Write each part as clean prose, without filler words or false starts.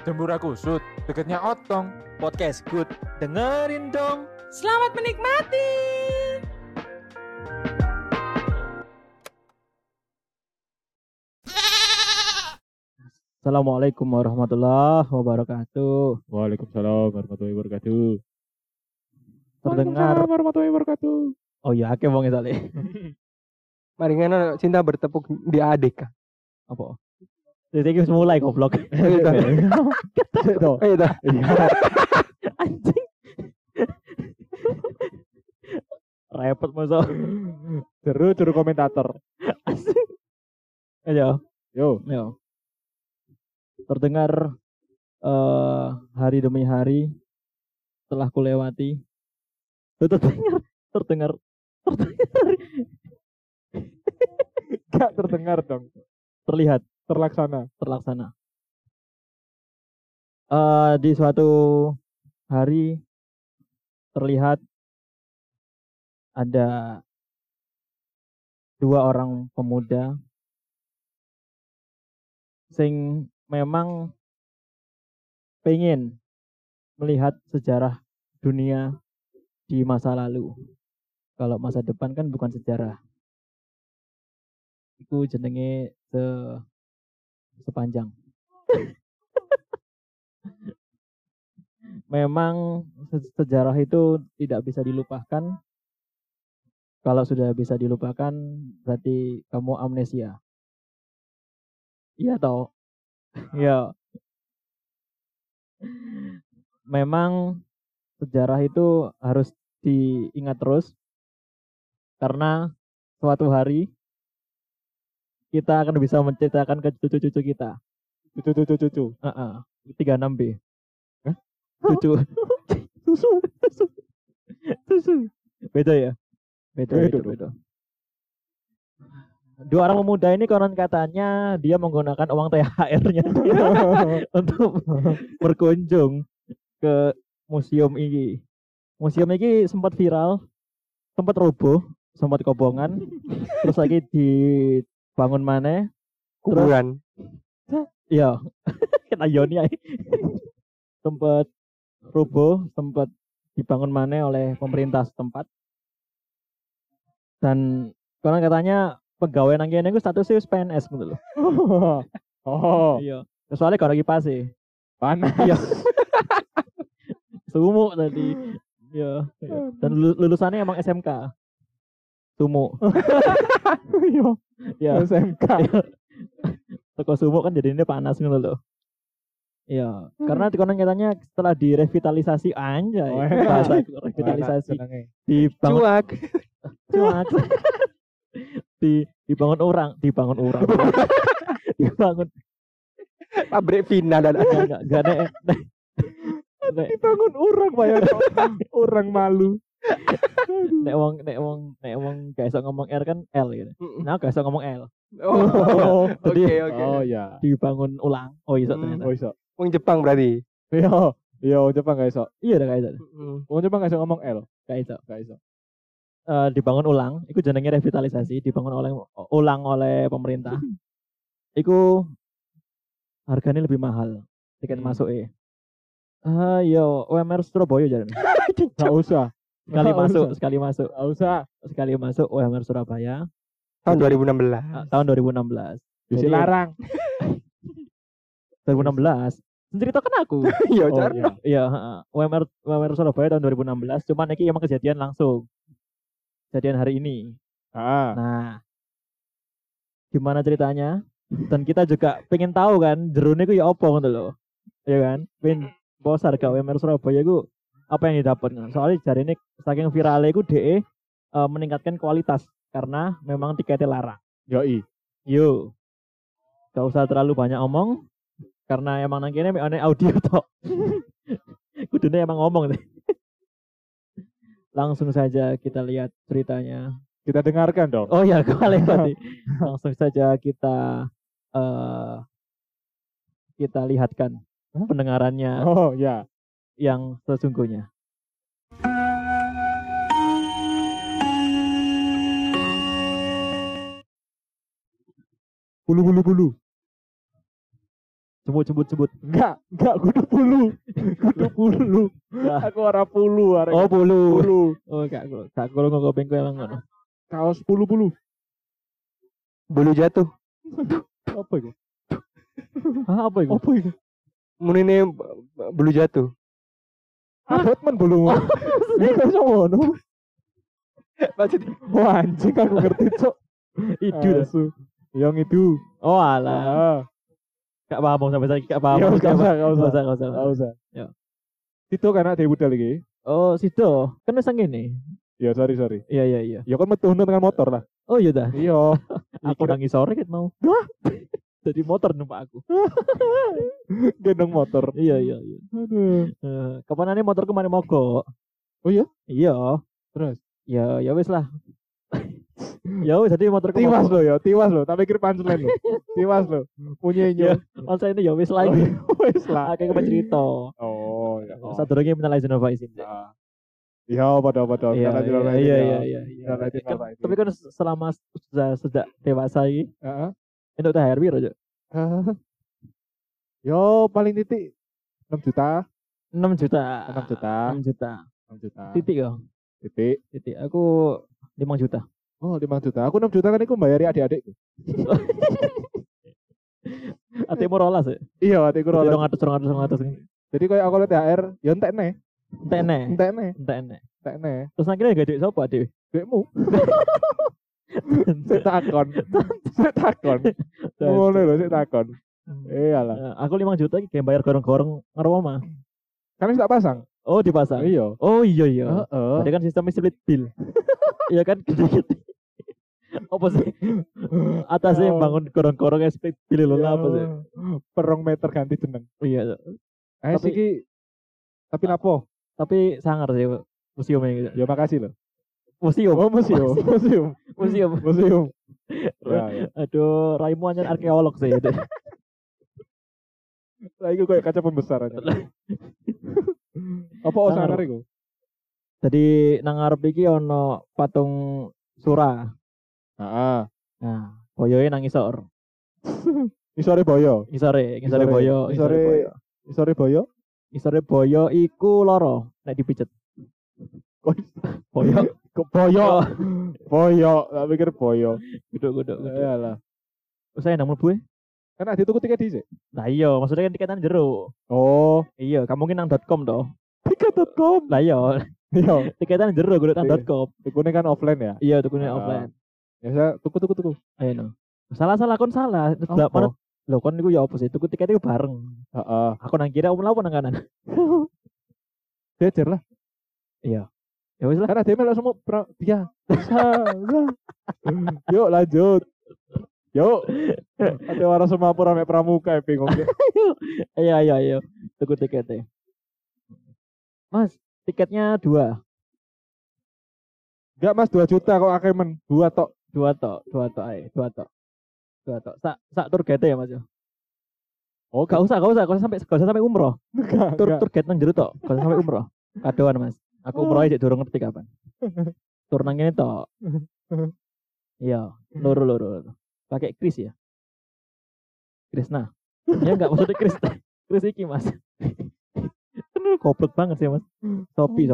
Dembura Kusut, deketnya Otong. Podcast Good. Dengerin dong. Selamat menikmati. Assalamualaikum warahmatullahi wabarakatuh. Waalaikumsalam warahmatullahi wabarakatuh. Terdengar. Warahmatullahi wabarakatuh. Oh iya, akeh wong sale. Maringan cinta bertepuk di adik. Apa? Jadi wis mulai goblok. Ayo dah. Ayo dah. Anjing. Repot masa. Seru komentator. Ayo. Yo. Terdengar hari demi hari telah kulewati. Terdengar. Gak terdengar dong. Terlihat. Terlaksana. Di suatu hari terlihat ada dua orang pemuda sing memang pengen melihat sejarah dunia di masa lalu. Kalau masa depan kan bukan sejarah. Itu jenenge sepanjang. Memang sejarah itu tidak bisa dilupakan. Kalau sudah bisa dilupakan berarti kamu amnesia. Iya toh? Ya. Memang sejarah itu harus diingat terus karena suatu hari kita akan bisa menceritakan ke cucu-cucu kita. Cucu. 36B. Hah? Cucu. Susu. Beda ya? Beda. Dua orang pemuda ini konon katanya dia menggunakan uang THR-nya untuk berkunjung ke museum ini. Museum ini sempat viral, sempat roboh, sempat kobongan, terus lagi dibangun mana? Kuburan. Iya, kita Yoni aja. Sempat roboh, sempat dibangun mana oleh pemerintah setempat. Dan konon katanya pegawai nang kene iku statusnya PNS gitu loh. Oh. Iya. Soalnya kalau kipas sih. Panas. Iya. Sumuk tadi. Iya. Dan lulusannya emang SMK. Sumuk. Iya. SMK. Toko sumuk kan jadinya panas gitu loh. Iya, karena konon katanya setelah direvitalisasi anjay. Bahasa revitalisasi dibangun cuak. dibangun orang. dibangun Pabrik Vina dan enggak nek Dibangun orang bayar orang malu. nek wong gak iso ngomong R kan L gitu. Nah, gak iso ngomong L. Oh, Jadi, oke. Oh ya. Dibangun ulang. Oh iso ternyata. Oh iso. Wong Jepang berarti. Iya, Jepang gak iso. Iya udah gak iso. Wong Jepang gak iso ngomong L. Gak iso. Dibangun Ulang, itu jenenge revitalisasi, dibangun ulang oleh pemerintah. Iku harganya lebih mahal tiket masuknya. Yo UMR Surabaya jalan. Gak usah. Sekali masuk UMR Surabaya Tahun 2016. tahun 2016. Bisa Jadi, larang. 2016. Ceritakan aku. Iya, Oh, Car. Iya, UMR Surabaya tahun 2016. Cuman ini emang kejadian langsung. Kejadian hari ini. Nah, gimana ceritanya? Dan kita juga pengen tahu kan, jerone ku ya apa gitu loh. Ya kan? Pengen bos harga UMR Surabaya ku apa yang didapat kan? Soalnya jari ini saking viralnya ku DE meningkatkan kualitas karena memang tiketnya larang. Yoi. Yo. Gak usah terlalu banyak omong karena emang nang kene mek audio tok. Kudune emang ngomong deh. Langsung saja kita lihat ceritanya. Kita dengarkan dong. Oh ya, kembali tadi. Langsung saja kita lihatkan pendengarannya Oh ya. yang sesungguhnya. Bulu. Jembut. Enggak kudu pulu. Kudu pulu. Nah. Aku ora pulu arek. Oh, pulu. Pulu. Oh, gak kalau ngopeng kowe emang ngono. Kaos pulu-pulu. Bulu jatuh. Apa itu? Hah, apa itu? Apa itu? Munine bulu jatuh. Batman bulu. Ini kok ngono. Maksudnya Wah, anjing aku ngerti, Cok. Itu dah. Asu. Yang itu. Oh, alah. Ah. Gak paham sampai saiki gak paham. Ya, gak usah. Gak usah. Enggak usah. Ya. Itu kan ada budal iki. Oh, sido. Kan wis ngene. Ya, sorry. Iya. Ya kan metu dengan motor lah. Oh iya dah. Iya. Aku nangis sore ket mau. Jadi motor numpak aku. Gendong motor. Iya. Aduh. Kapanane motor kemarin mogok. Oh iya? Iya. Terus Ya wis lah. Ya wis jadi motor tiwas lo. Tak pikir punchline lo. Tiwas lo. Punya Ya, inyo. masa ini ya wis lah. Wes lah. Akeh cerita. Oh, ya. Sadurunge minal izin wa izin. Ah. Iya, pada. Iya. Minal izin wal faizin. Tapi kan selama sejak dewasa iki Heeh. entuk THR piro, Cuk? Yo paling titik 6 juta. 6 juta. 6 juta. 6 juta. 6 juta. Titik yo. Titik. Aku 5 juta. Oh, 5 juta. Aku 6 juta kan iku bayari adik-adikku. Atimu rolas ya? Iya, adikku rolas. 200. Jadi kayak aku lihat THR, ya entekne. Entekne. Terus akhirnya gak duit sapa, Dik? Dekmu. Sik takon. Ngono lho sik takon. Iyalah. Aku 5 juta iki bayar gorong-gorong karo omah. Kan wis tak pasang. Oh, dipasang. Iya. Oh iya. Heeh. Berarti kan sistemnya split bill. Iya kan gede-gede. Apa sih? Atasnya Oh. bangun gorong-gorong split bill lho apa sih? Perong meter ganti jeneng. Iya. Tapi iki tapi napo? Tapi sangar sih museumnya gitu. Ya makasih loh. Museum. Oh, museum. Ya. Aduh, Raimu hanya arkeolog sih. Lah iku kayak kaca pembesar aja. Apa sangar iku? Jadi nang ngarep iki ono patung Sura. Heeh. Nah, boyoe nang isor. Isore boyo. Isore Isore boyo. Isore boyo. Isore boyo iku loro nek dipijet. Boyo. Kok boyo? Boyo, tak pikir boyo. Guduk. Iyalah. Saya nang mlebu. Kan ada tuku tiket dhisik. Lah iya, maksudnya kan tiketan jero. Oh, Iya, kamu mungkin nang .com toh. tiket.com. Lah iya, Iya, tiketan jero kudu nang Iya. .com. tukune kan offline ya. Iya, tukune Ah. offline. Ya saya tuku. Ayo no. Salah kon salah. Lah Apa? Lho kon niku ya apa sih? Tuku tiket iku bareng. Heeh. Aku nang kiri, aku mlaku nang kanan. Jejer lah. Iya. Ya wis lah. Karena dia melok semua dia. Yuk lanjut. Yuk. Ada orang semapur ame pramuka bingung. Ayo. Tuku tiketnya. Mas, tiketnya 2. Enggak Mas 2 juta kok akeh men. 2 tok. 2 tok ae, 2 tok. Sak tour guide ya, Mas. Oh, Gak usah sampai umroh. Tur enggak. guide nang jero tok, gak usah sampai umroh. Kadoan, Mas. Aku umroh aja durung ngerti kapan. Tur nang ngene tok. Iya, loro. Pakai Kris ya. Krisna. Ya enggak maksudnya Kris iki, Mas. Kan goblok banget sih, Mas. Sopi.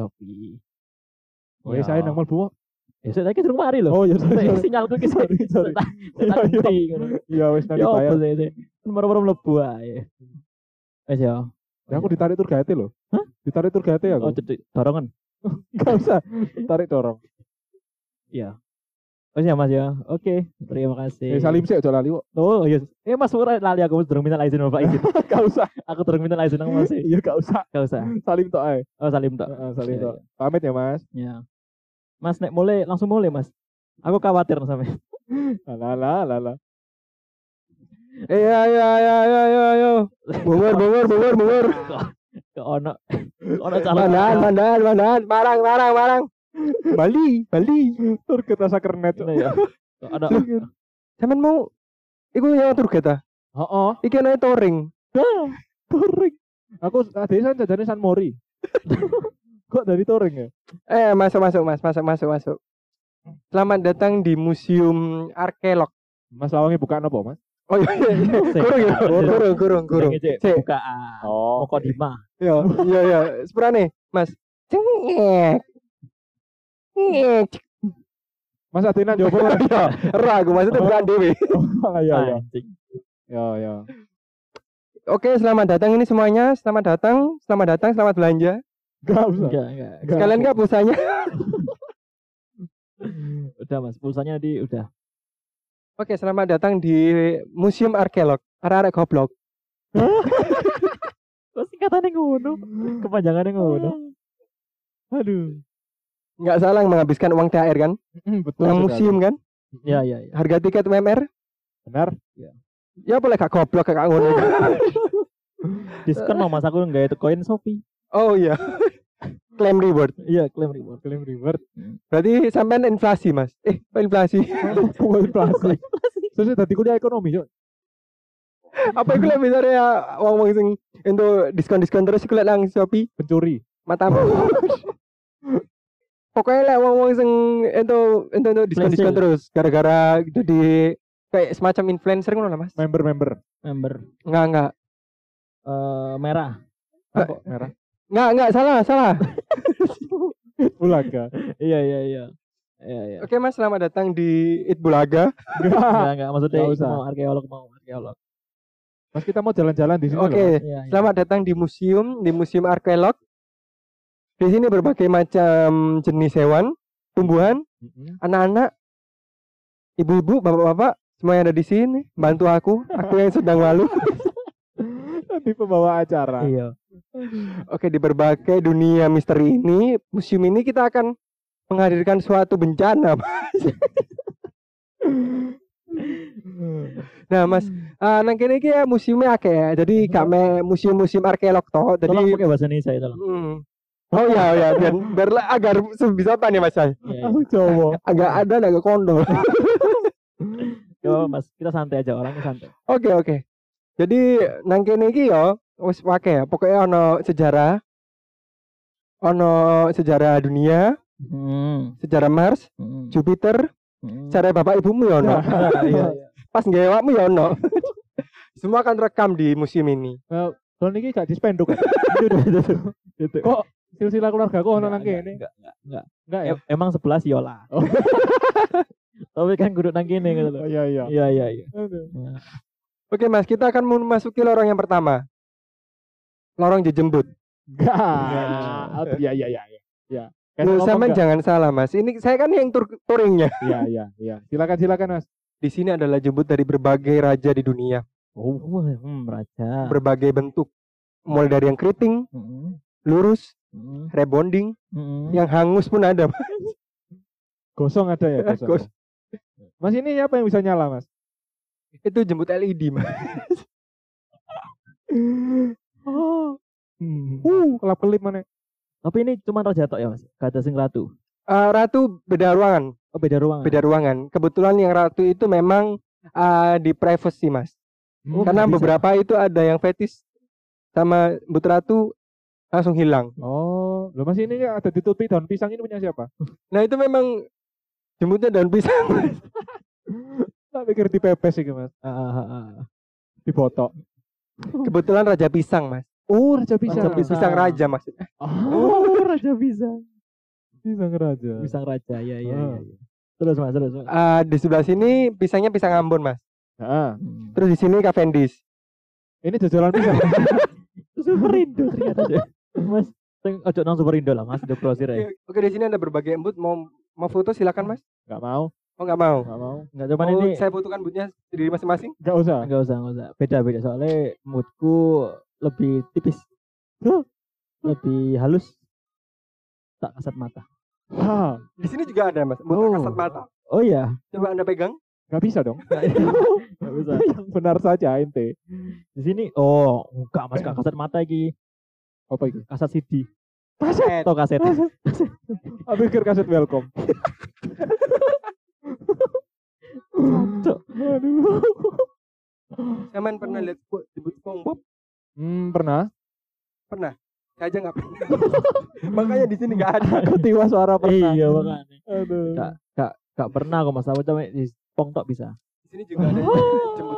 Oh, saya nang mlebu. Ya saya lagi durung mari lho. Oh, ya sorry. Sinyalku ki Sorry. Tak ganti ngono. Iya wis nang Ya apa dibayar. sih? Nomor mlebu ae. Wis ya. Ya aku ditarik tur guide lho. Hah? Ditarik tur guide Oh, aku. jadi dorongan. Enggak usah. Tarik dorong. Iya. Wis ya, Mas ya. Oke, terima kasih. Salim sih aja lali kok. Oh, iya. Mas ora lali aku durung minta izin Bapak izin. Enggak usah. Aku durung minta izin nang Mas. Iya enggak usah. Gak usah. Salim tok ae. Oh, salim tok. Heeh, salim Iya, tok. Pamit ya, Mas. Ya. Mas nek mulai langsung mulai, Mas. Aku khawatir sampe. Lah. Ayo. Bubur. Ke ono calon. Mandan. Marang. Bali. Tur kita rasa kernet. Ya. Ada Sampeyan mau iku nyawa tur kita. Heeh. Iki ana touring. Touring. Aku tadi san jajane San Mori. Kok dari touring ya? Masuk Mas. Selamat datang di Museum Arkeolog. Mas Lawangi bukaan apa, Mas? Oh iya, kurung. Cek Cek. bukaan. Oh. Mukodimah. Iya. Sepurane, Mas. Cengek. Ngek. Mas Adina jopo. Iya, ragu maksudnya bukan dewe. Iya. Anjing. Ya. Oke, selamat datang ini semuanya. Selamat datang, selamat belanja. Enggak usah. Enggak. Sekalian enggak pulsanya? Udah Mas, pulsanya udah. Oke, selamat datang di Museum Arkeolog. Arek goblok. Kok singkatannya ngono? Kepanjangannya ngono. Aduh. Enggak salah menghabiskan uang THR kan? Betul. Yang museum kan? Iya. Harga tiket UMR? Benar. Ya boleh gak goblok kayak ngono. Diskon mau Mas aku enggak itu koin Shopee. Oh iya. Claim reward. Iya, klaim reward. Klaim reward. Berarti sampean inflasi, Mas. Kok inflasi? Inflasi. Terus tadi kuliah ekonomi, Cuk. Apa iku lek misalnya wong-wong sing entuk diskon-diskon terus iku lek nang Shopee Pencuri. matamu. Pokoknya lek wong-wong sing entuk diskon-diskon Flash terus gara-gara jadi kayak semacam influencer ngono lah, Mas. Member. Enggak. Merah. Kok merah? Enggak, salah. Bulaga. Iya. Oke, Mas, selamat datang di It Bulaga. Enggak maksudnya Nggak usah. mau arkeolog. Mas kita mau jalan-jalan di sini. Oke, Iya. selamat datang di Museum Arkeolog. Di sini berbagai macam jenis hewan, tumbuhan, anak-anak, ibu-ibu, bapak-bapak, semua yang ada di sini. Bantu aku yang sedang malu. Di pembawa acara. Iya. Oke, di berbagai dunia misteri ini, museum ini kita akan menghadirkan suatu bencana. Nah, Mas, nang kene iki ya museumnya akeh ya. Jadi gak me museum arkeolog toh. Tolong Jadi pakai bahasa Indonesia ya, tolong. Oh iya, biar agar bisa apa nih Mas? Iya. Aku Jawa. Agak ada agak kondol. Yo, Mas, kita santai aja, orangnya santai. Oke. Jadi nang kene iki ya wis akeh ya. Pokoknya ono sejarah dunia, sejarah Mars, Jupiter, sejarah bapak ibumu ya ono. Iya. Pas ngewakmu ya ono. Semua akan rekam di museum ini. Kalau niki gak dispenduk. Gitu. Kok silsilah keluarga kok ono nang kene? Enggak. Enggak ya? Emang 11 yola. Oh. Tapi kan kudu nang kene gitu loh. Oh, iya. Iya. Aduh. Oke, Mas, kita akan memasuki lorong yang pertama. Lorong jejembut. Enggak. Iya. Lu sama jangan salah, Mas. Ini saya kan yang touringnya. Iya. Silakan Mas. Di sini adalah jembut dari berbagai raja di dunia. Oh, raja. Berbagai bentuk. Mulai dari yang keriting, lurus, rebonding, yang hangus pun ada. Gosong ada ya, gosong. Mas ini apa yang bisa nyala, Mas? Itu jembut LED, Mas. Kelap-kelip mana? Tapi ini cuma raja tok ya, Mas. Gak ada sing ratu. Ratu beda ruangan. Oh, beda ruangan. Beda ruangan. Kebetulan yang ratu itu memang di privacy, Mas. Karena beberapa itu ada yang fetish sama but ratu langsung hilang. Oh, loh Mas ini ada ditutupi daun pisang ini punya siapa? Nah, itu memang jembutnya daun pisang. Tak pikir dipepes sih, Mas. Dibotok. Kebetulan raja pisang, Mas. Oh, raja pisang. Pisang raja, Mas. Oh, raja pisang. Pisang raja. Pisang raja. Iya. Terus, Mas. Di sebelah sini pisangnya pisang Ambon, Mas. Heeh. Terus di sini Cavendish. Ini jajalan pisang. Superindo ternyata. Mas, ojo nang Superindo lah, Mas. Udah grosir ya. Oke, di sini ada berbagai embut. Mau foto silakan, Mas. Enggak mau. Oh, enggak mau. Enggak cuman ini Saya butuhkan butnya sendiri masing-masing. Enggak usah. enggak usah. Beda soalnya moodku lebih tipis. Lebih halus. Tak kasat mata. Di sini juga ada, Mas. But kasat mata. Oh iya. Coba Anda pegang. Enggak bisa dong. Enggak bisa. Yang benar saja ente. Di sini enggak Mas, gak kasat mata iki. Apa itu? Kasat CD. Kaset. Atau kaset. Aku pikir kaset welcome. Cok. Aduh. Saman pernah lihat jembut SpongeBob? Pernah. Saya aja nggak pernah. Makanya di sini nggak ada. Aku tiwa suara pernah. Iya makanya. Aduh. Gak pernah kok Mas, aku cuma di Spong tok bisa. Di sini juga ada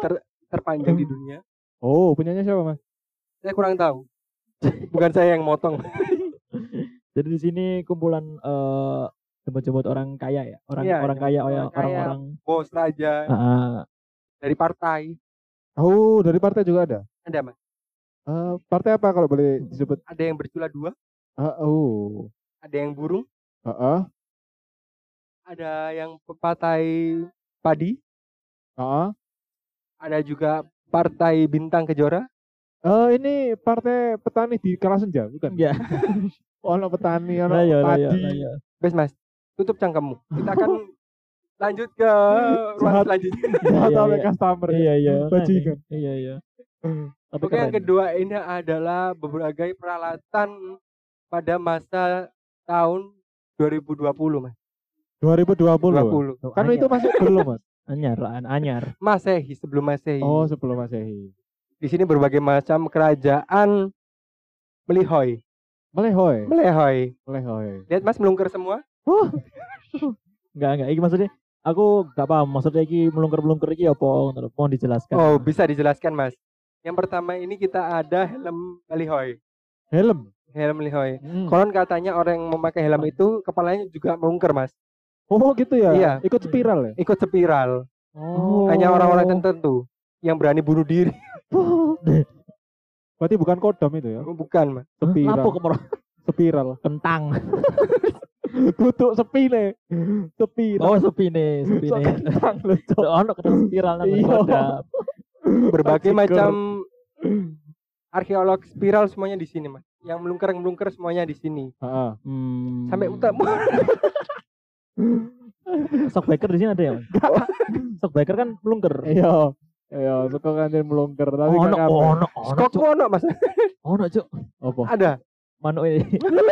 terpanjang di dunia. Oh, punyanya siapa, Mas? Saya kurang tahu. Bukan saya yang motong. Jadi di sini kumpulan jemput-jemput orang kaya ya, Iya, orang kaya, orang kaya. orang-orang Bos raja dari partai. Oh, dari partai juga ada. Ada Mas. Partai apa kalau boleh disebut? Ada yang bercula dua, Oh. ada yang burung, Heeh. ada yang partai padi, Heeh. ada juga partai bintang kejora. Ini partai petani di Kalasenja, bukan? ya. Ono petani, ono Lah ya, padi. Bes Mas, tutup cangkemmu. Kita akan lanjut ke ruang selanjutnya. Atau iya. customer. Iya. Bajingan. Iya. Tapi Oke, yang keren. kedua ini adalah berbagai peralatan pada masa tahun 2020, Mas. 2020. 20. Kan itu masih belum, Mas. anyar. Masehi, sebelum Masehi. Oh, sebelum Masehi. Di sini berbagai macam kerajaan melihoy. Melehoy. Melehoy. Lihat Mas melungker semua. Enggak. Iki maksudnya aku enggak paham maksudnya iki melungker-melungker iki apa ngono. Mohon dijelaskan. Oh, bisa dijelaskan, Mas. Yang pertama ini kita ada helm melihoy. Helm. Helm melihoy. Hmm. Konon katanya orang yang memakai helm itu kepalanya juga melungker, Mas. Oh, gitu ya. Iya. Ikut spiral ya. Ikut spiral. Oh. Hanya orang-orang tertentu yang berani bunuh diri. Berarti bukan kodam itu ya. Bukan, Mas. Spiral. Lapo kemoro Spiral. kentang. Tutup sepine. Spiral. Oh, sepine. Kentang lho, Cok. Ono ketemu spiral nang Iya. kodam. Berbagai Bajigur. macam arkeolog spiral semuanya di sini, Mas. Yang melungker semuanya di sini. Heeh. Sampai utama. Shockbreaker di sini ada ya, Mas? Shockbreaker kan melungker. Iya. Iya, suka kantin melungker tapi Ono, gak kabeh. Skok Cuk. ono, Mas. Ono, Cuk. Apa? Ada. Manuk ini.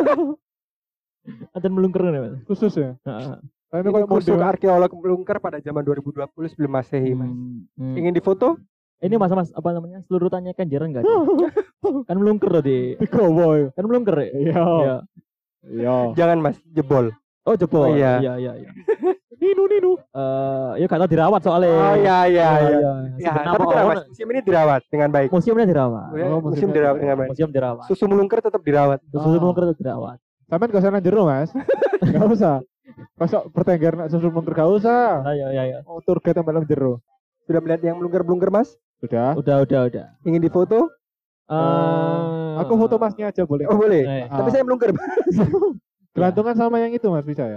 Ada melungker nih, Mas. Khusus ya. Heeh. Tapi Ini kalau khusus model arkeolog melungker pada zaman 2020 sebelum Masehi, Mas. Ingin difoto? Ini Mas, apa namanya? Selurutannya kan jarang enggak? Kan melungker loh di. digowo ya. Kan melungker ya? Iya. Iya. Iya. Jangan, Mas, jebol. Oh, jebol. Oh, iya. Iya. Ninu. Ya kata dirawat soalnya. Oh iya. Ya, Ya, sebenarnya tapi apa tenang, ono- Mas, museum ini dirawat dengan baik. museumnya dirawat. Ya, Oh, museum museumnya dirawat dengan baik. Museum dirawat. Susu melungker tetap dirawat. Susu melungker tetap dirawat. Sampai gak usah nang jero, Mas. Gak usah. Pasok bertengger nak susul melungker gak usah. Nah, ya. Oh, tour guide yang dalam jero. Sudah melihat yang melungker-melungker, Mas? Sudah. Udah. Ingin difoto? Aku foto Masnya aja boleh. Oh, boleh. Eh, Tapi saya melungker. Gelantungan sama yang itu, Mas, bisa ya?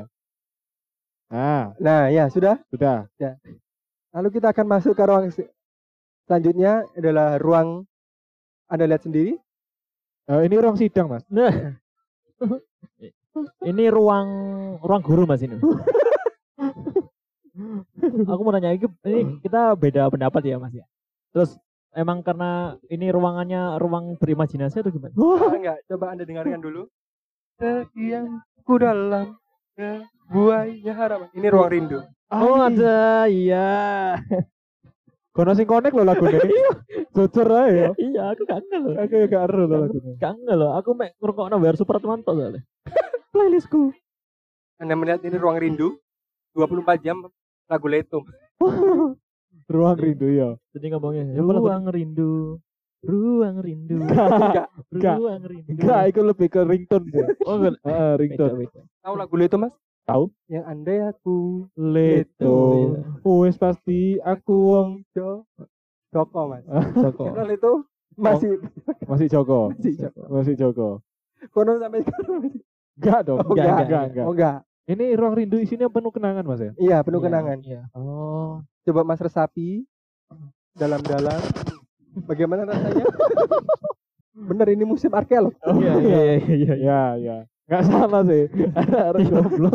Nah, ya, sudah. Lalu kita akan masuk ke ruang selanjutnya adalah ruang Anda lihat sendiri. Ini ruang sidang, Mas. Nah. Ini ruang guru Mas ini. Aku mau nanya ini kita beda pendapat ya Mas ya. Terus emang karena ini ruangannya ruang berimajinasi atau gimana? Enggak, coba Anda dengarkan dulu. Sekianku dalam buaya harapan. Ini ruang rindu. Oh ada, iya. Kono sing connect lho lagune. Jujur ae ya. Iya, aku kangen loh. Aku ya gak ero lho lagune. Kangen loh. Aku mek ngrungokno Bayar Supratmanto soalnya. Playlistku. Anda melihat ini ruang rindu 24 jam lagu Leto. Ruang rindu ya. Jadi ngomongnya Coba ruang rindu. Ruang rindu. Enggak. Ruang rindu. Enggak, itu lebih ke ringtone sih. Oh, enggak. Ringtone. Beda. Tahu lagu Leto, Mas? Tahu? Yang andai aku Leto. Wes pasti aku wong Joko, Mas. Joko. Kalau Leto masih masih Joko. masih Joko. Masih Joko. Kono sampai sekarang. Enggak dong. Oh, enggak. Enggak. Oh, enggak. Ini ruang rindu isinya penuh kenangan, Mas ya? Iya, penuh kenangan. Iya. Oh. Coba Mas resapi dalam-dalam. Bagaimana rasanya? Bener ini musim arkeolog. Iya. Ya. Enggak salah sih. Ada goblok.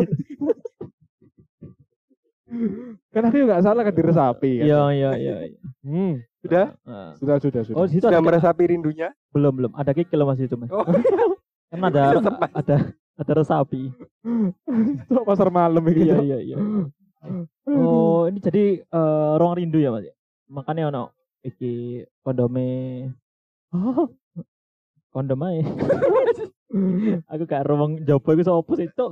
Kan aku enggak salah kan diresapi kan. Iya. Sudah? Sudah. Oh, di situ Sudah ada meresapi rindunya? belum. Ada kikil Mas itu, Mas. Oh, Kan ada resapi. Itu pasar malam iki. Iya. Oh, ini jadi ruang rindu ya, Mas. Makanya ono iki kondom ae. Aku gak ruang jopo iku sapa sih, Cuk?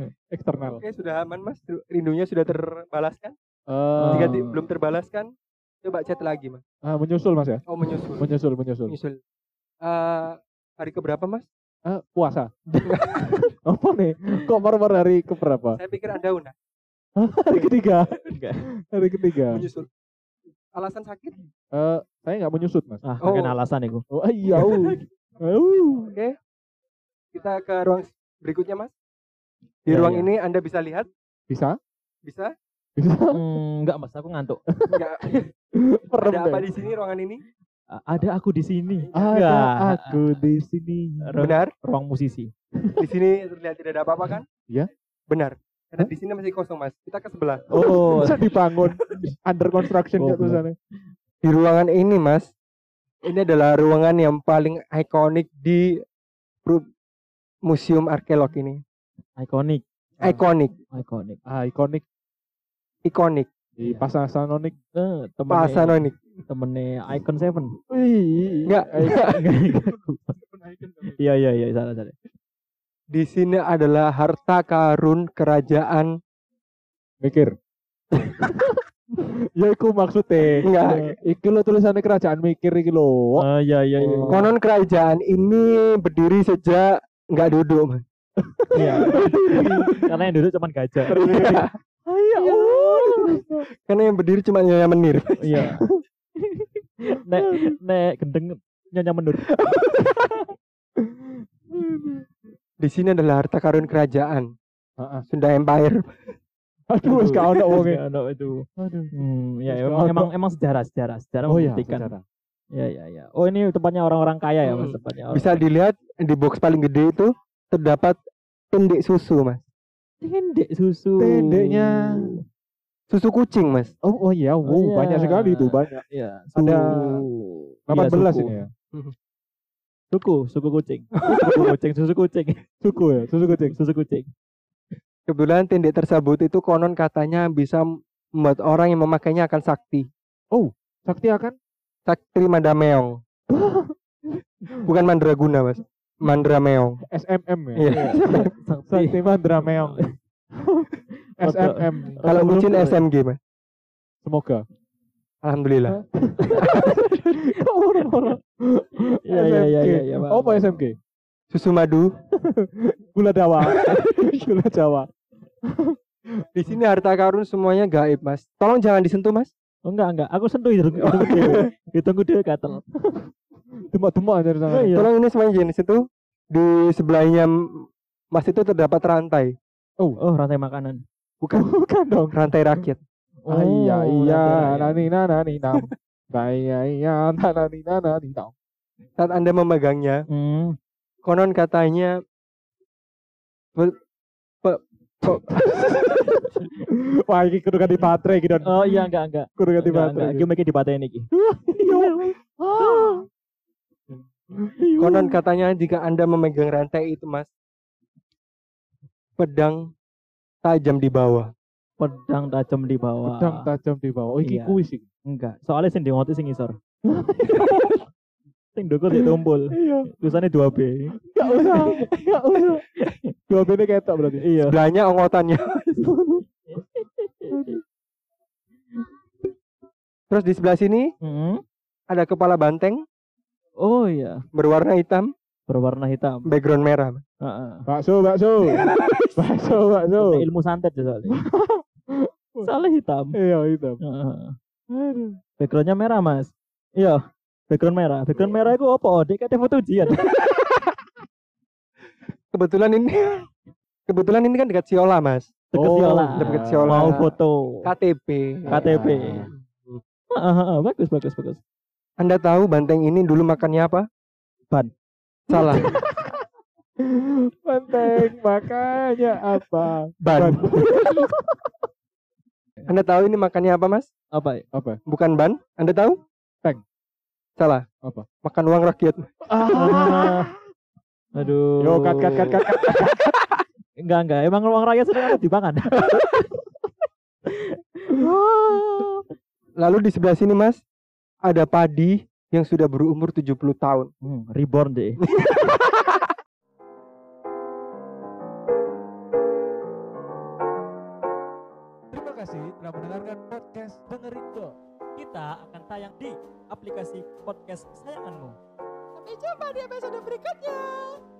Eksternal. oke, sudah aman, Mas. Rindunya sudah terbalaskan? Eh, Jika belum terbalaskan, Coba chat lagi, Mas. Menyusul Mas ya? Oh, menyusul. Menyusul. Menyusul. Hari keberapa, Mas? Puasa. Apa nih? Kok baru hari keberapa? Saya pikir Anda udah Hari ketiga. Enggak. Hari ketiga. menyusul. Alasan sakit? Saya nggak menyusut Mas. Oh. Kan alasan itu. Oh iya. Oke. Kita ke ruang berikutnya, Mas. Di Ya, ruang ya. ini Anda bisa lihat? Bisa? Bisa? Bisa? Enggak Mas, aku ngantuk. Enggak. Perem Ada apa deh. di sini ruangan ini? Ada aku di sini. Ada Enggak. aku di sini. Benar? Ruang musisi. Di sini terlihat tidak ada apa-apa kan? Iya. Benar. Karena di sini masih kosong, Mas. Kita ke sebelah. Oh, Bisa dibangun under construction Goblok. ya tulisannya. Di ruangan ini, Mas, ini adalah ruangan yang paling ikonik di Museum Arkeolog ini. ikonik. Ikonik, Ikonik ikonik, di Pasasanonik. Pasanonik. Temennya Icon 7. Enggak. Iya, salah. Di sini adalah harta karun kerajaan. Mikir. Ya iku maksudnya. Enggak. Iki lo tulisannya kerajaan mikir iki lo. Iya. Konon kerajaan ini berdiri sejak nggak duduk, Mas. Iya. Karena yang duduk cuma gajah. Ayo. Karena yang berdiri cuma Nyonya Menir. Iya. Nek gendeng Nyonya Menur. Di sini adalah harta karun kerajaan Heeh. Sunda Empire. Aduh, wis gak ono wonge. Ada itu. Aduh. Ya Terus emang sejarah Oh iya, membuktikan. sejarah. Ya. Oh ini tempatnya orang-orang kaya ya Mas, tempatnya. Bisa dilihat di box paling gede itu terdapat tendek susu, Mas. Tendek susu. Tendeknya. Susu kucing, Mas. Oh iya, iya. banyak sekali itu, banyak. Iya, Ada Iya, 18 suku. ini ya. Suku kucing. Susu kucing. Susu kucing. Kebetulan tendek tersebut itu konon katanya bisa membuat orang yang memakainya akan sakti. Sakti akan Sakti Mandrameong. Bukan Mandraguna, Mas. Mandrameong. SMM ya. Iya. Sakti Mandrameong. SMM. Kalau bucin SMG, Mas. Semoga. Alhamdulillah. Iya. Apa SMG? Susu madu. Gula Jawa. Gula Jawa. Di sini harta karun semuanya gaib, Mas. Tolong jangan disentuh, Mas. Oh, enggak. Aku sentuh hidungku dewe. Hidungku dewe gatel. Demak-demak aja di sana. Iya. Tolong ini semuanya jangan disentuh. Di sebelahnya Mas itu terdapat rantai. Oh, rantai makanan. Bukan, Bukan dong. rantai rakyat. Iya, rantai rakyat. nani nam. Iya, nani nam. Saat Anda memegangnya, konon katanya Wah, ini kudu ganti baterai gitu. Oh iya enggak. Kudu ganti Enggak. baterai. Iki mesti dipatein iki. konon katanya jika Anda memegang rantai itu, Mas, pedang tajam di bawah. Pedang tajam di bawah. Pedang tajam di bawah. Oh, iki Iya. kuis iki. Enggak. Soalnya sing ngoti sing ngisor. Sing ndukur sik tumpul. Iya. Tulisannya 2B. Enggak usah. Dua bene ketok berarti. Iya. Sebelahnya ongotannya. Terus di sebelah sini ada kepala banteng Oh iya, berwarna hitam, berwarna hitam. background merah. Heeh. Bakso. Ilmu santet ya soalnya. Soalnya hitam. Iya, hitam. Heeh. Aduh. Backgroundnya merah mas. Iya. Background merah. Background merah itu apa? Dek kate foto ujian. Kebetulan ini kan dekat Siola, Mas. Deket Oh, Siola. deket Siola. Mau foto. KTP. KTP. Bagus. Anda tahu banteng ini dulu makannya apa? Ban. Salah. Banteng makanya apa? Ban. Anda tahu ini makannya apa, Mas? Apa? Apa? Bukan ban. Anda tahu? Peng. Salah. Apa? Makan uang rakyat. Aduh. Yo, kat. Enggak. Emang uang rakyat sedang ada dimakan. Lalu di sebelah sini, Mas, ada padi yang sudah berumur 70 tahun. Reborn deh. kasih telah mendengarkan podcast Dengerindo. Kita akan tayang di aplikasi podcast kesayanganmu. Sampai jumpa di episode berikutnya.